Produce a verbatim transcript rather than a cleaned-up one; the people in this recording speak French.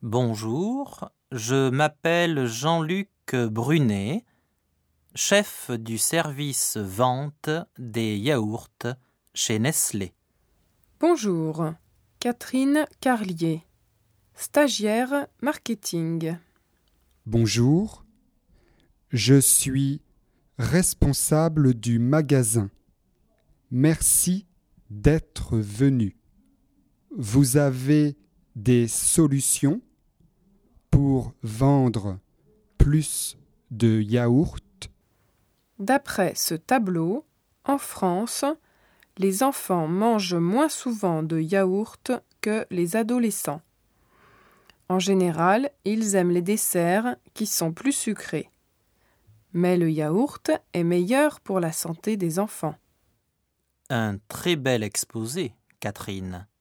Bonjour, je m'appelle Jean-Luc Brunet, chef du service vente des yaourts chez Nestlé. Bonjour, Catherine Carlier, stagiaire marketing. Bonjour, je suis responsable du magasin. Merci d'être venu. Vous avez des solutions pour vendre plus de yaourts? D'après ce tableau, en France, les enfants mangent moins souvent de yaourt que les adolescents. En général, ils aiment les desserts qui sont plus sucrés. Mais le yaourt est meilleur pour la santé des enfants. Un très bel exposé, Catherine.